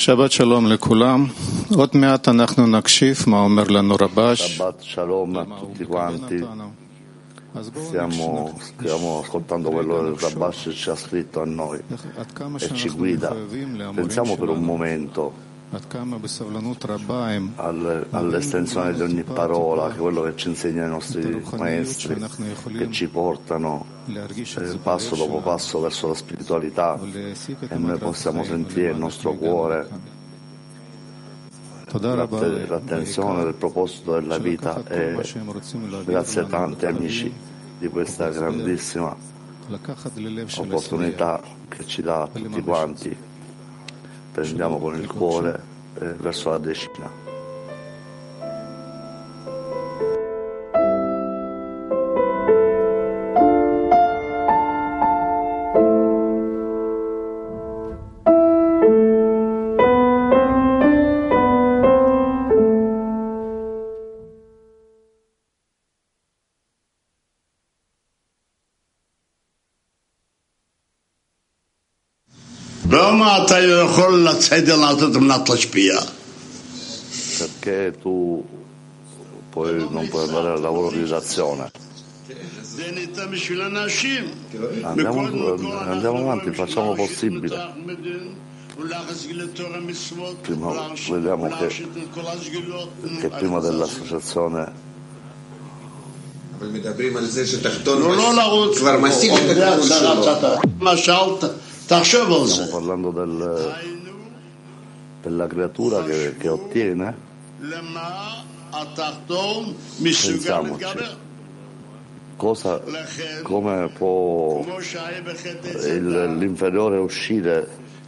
Shabbat Shalom לכולם. עוד מעט אנחנו נקשיב מה אומר לנו רבש. Shabbat Shalom a tutti quanti. Stiamo ascoltando quello che il Rabash ci ha scritto a noi e ci guida. Pensiamo per un momento all'estensione di ogni parola, che è quello che ci insegnano i nostri maestri, che ci portano passo dopo passo verso la spiritualità, e noi possiamo sentire il nostro cuore, l'attenzione del proposito della vita. E grazie a tanti amici di questa grandissima opportunità che ci dà a tutti quanti. Prendiamo con il cuore verso la decina. Perché tu non puoi andare al lavoro di redazione? Andiamo avanti, facciamo possibile. Prima, vediamo che prima dell'associazione stiamo parlando della creatura che ottiene. Pensiamoci, come può l'inferiore uscire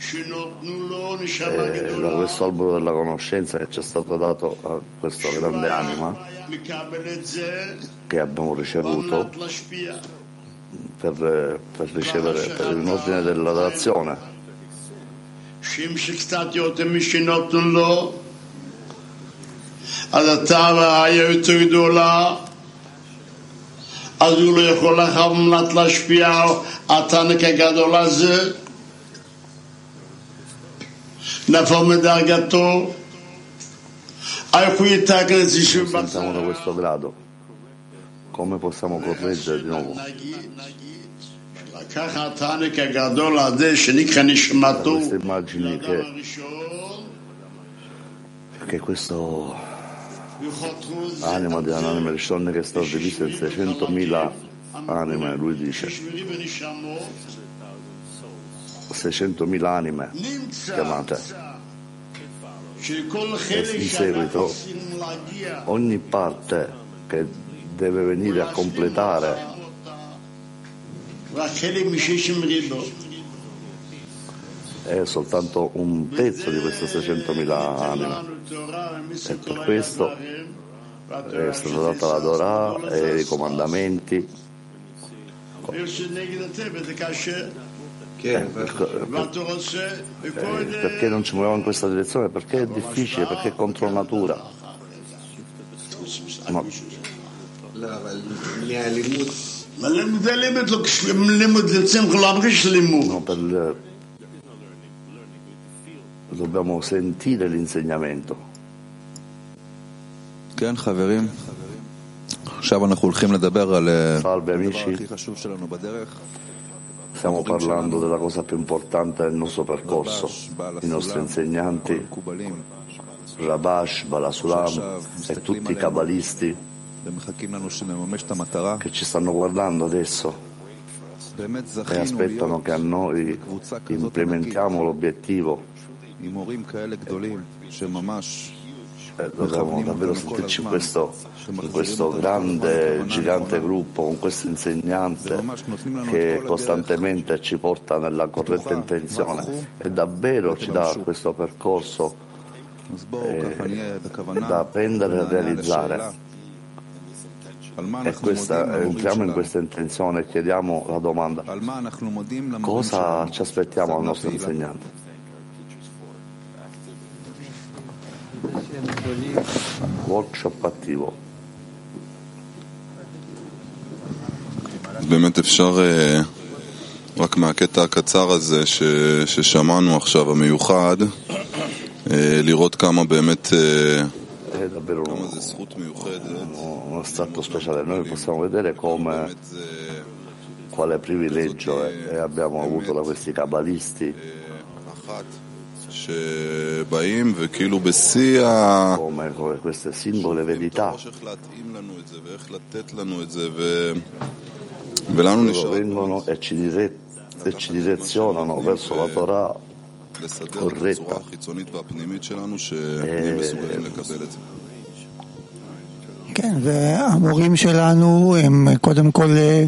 da questo albero della conoscenza che ci è stato dato a questa grande anima che abbiamo ricevuto per ricevere per in ordine dell'adorazione. אז התאווה היה יותר גדולה, אז הוא לא יכול לכוונת להשפיע התענק הגדול הזה, נפל מדרגתו, איך הוא יתקן את זה שוב Sentiamo da questo grado, come possiamo correggere di nuovo? לקח התענק הגדול הזה שנקרא נשמתו, queste immagini che questo anima di un'anima Rishon che è stata divisa in 600.000 anime, lui dice 600.000 anime chiamate, e in seguito ogni parte che deve venire a completare è soltanto un pezzo di queste 600.000 anime, e per questo è stata data la Torah e i comandamenti. Perché non ci muoviamo in questa direzione? Perché è difficile, perché è contro natura. No. Dobbiamo sentire l'insegnamento. Salve amici, stiamo parlando della cosa più importante del nostro percorso. I nostri insegnanti, Rabash, Balasulam e tutti i cabalisti che ci stanno guardando adesso e aspettano che a noi implementiamo l'obiettivo. Dobbiamo davvero sentirci in questo grande, gigante gruppo, con questo insegnante che costantemente ci porta nella corretta intenzione e davvero ci dà questo percorso da prendere e realizzare. E entriamo in questa intenzione e chiediamo la domanda: cosa ci aspettiamo al nostro insegnante? Workshop attivo. באמת אפשר רק מהקטע הקצר הזה ששמענו עכשיו, המיוחד, לראות כמה באמת è davvero uno stato speciale. Noi possiamo vedere quale privilegio abbiamo avuto da questi cabalisti, come queste singole verità vengono e ci direzionano verso la Torah corretta. כן, והמורים שלנו הם קודם כל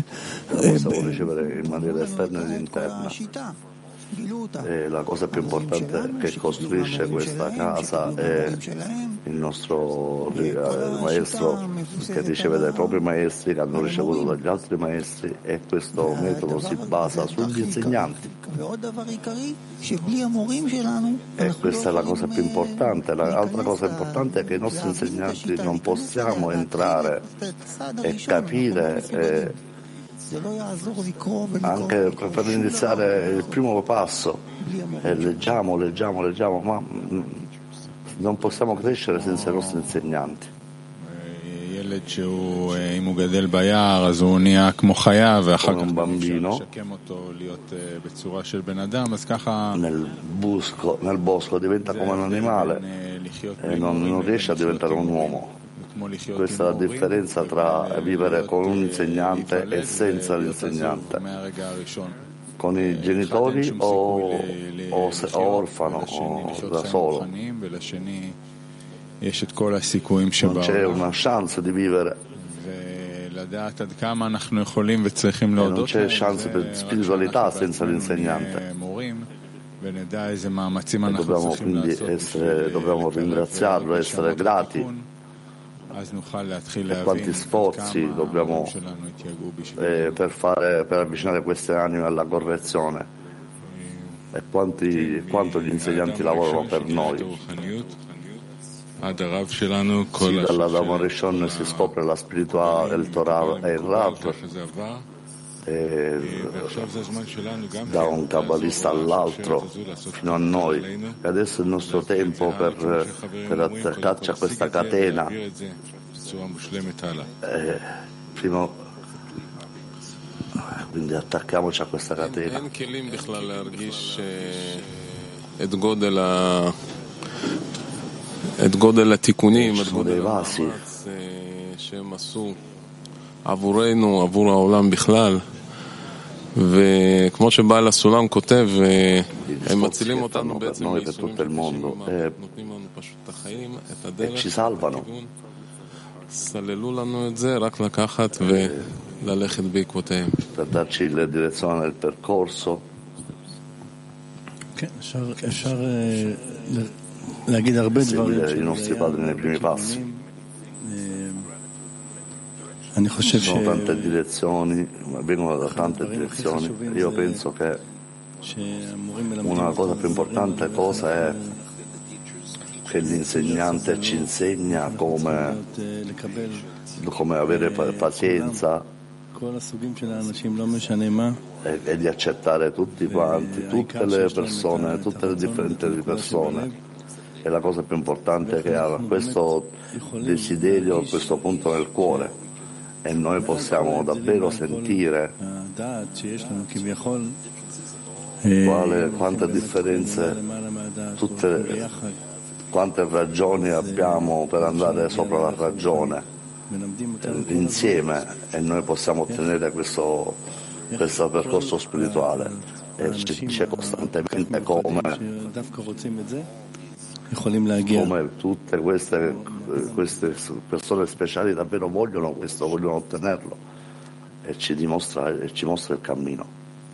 השיטה. La cosa più importante che costruisce questa casa è il nostro maestro che riceve dai propri maestri, che hanno ricevuto dagli altri maestri, e questo metodo si basa sugli insegnanti. E questa è la cosa più importante. L'altra cosa importante è che i nostri insegnanti non possiamo entrare e capire anche per iniziare il primo passo, leggiamo, ma non possiamo crescere senza i nostri insegnanti. Come un bambino nel bosco diventa come un animale e non riesce a diventare un uomo. Questa è la differenza tra vivere con un insegnante e senza l'insegnante, con i genitori o orfano o da solo. Non c'è una chance di vivere e non c'è chance per spiritualità senza l'insegnante. E dobbiamo ringraziarlo, essere grati. E quanti sforzi dobbiamo per avvicinare queste anime alla correzione, e quanto gli insegnanti lavorano per noi. Sì, dalla Dama Rishon si scopre la spiritualità, il Torah e il Rav, da un kabbalista all'altro fino a noi, e adesso è il nostro tempo per attaccarci a questa catena, quindi attacchiamoci a questa catena. Ci sono dei vasi עבורנו, עבור העולם בכלל, וכמו שבעל הסולם כותב, הם מצילים אותנו בעצם מייסורים של נותנים לנו פשוט את החיים, את הדרך, את הכיוון, סללו לנו את זה, רק לקחת וללכת בעקבותיהם. per darci la direzione del percorso. כן, אפשר להגיד הרבה דברים i nostri padri nei primi passi. Ci sono tante direzioni, vengono da tante direzioni. Io penso che una cosa più importante è che l'insegnante ci insegna come avere pazienza e di accettare tutti quanti, tutte le persone, tutte le differenti persone. E la cosa più importante è che ha questo desiderio, questo punto nel cuore. E noi possiamo davvero sentire quante differenze, quante ragioni abbiamo per andare sopra la ragione insieme, e noi possiamo ottenere questo percorso spirituale. E ci dice costantemente come tutte queste persone speciali davvero vogliono questo, vogliono ottenerlo, e ci mostra il cammino.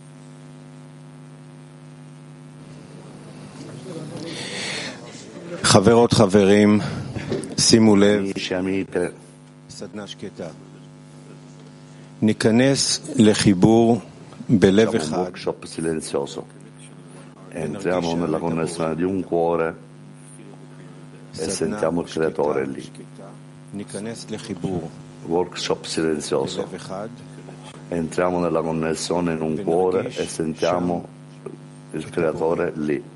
חברות חברים, שימו לב, Amici, amiche, ניכנס לחיבור בלב facciamo un אחד. workshop silenzioso. Entriamo nella connessione di un cuore e sentiamo il creatore lì. Workshop silenzioso. Entriamo nella connessione in un cuore e sentiamo il creatore lì.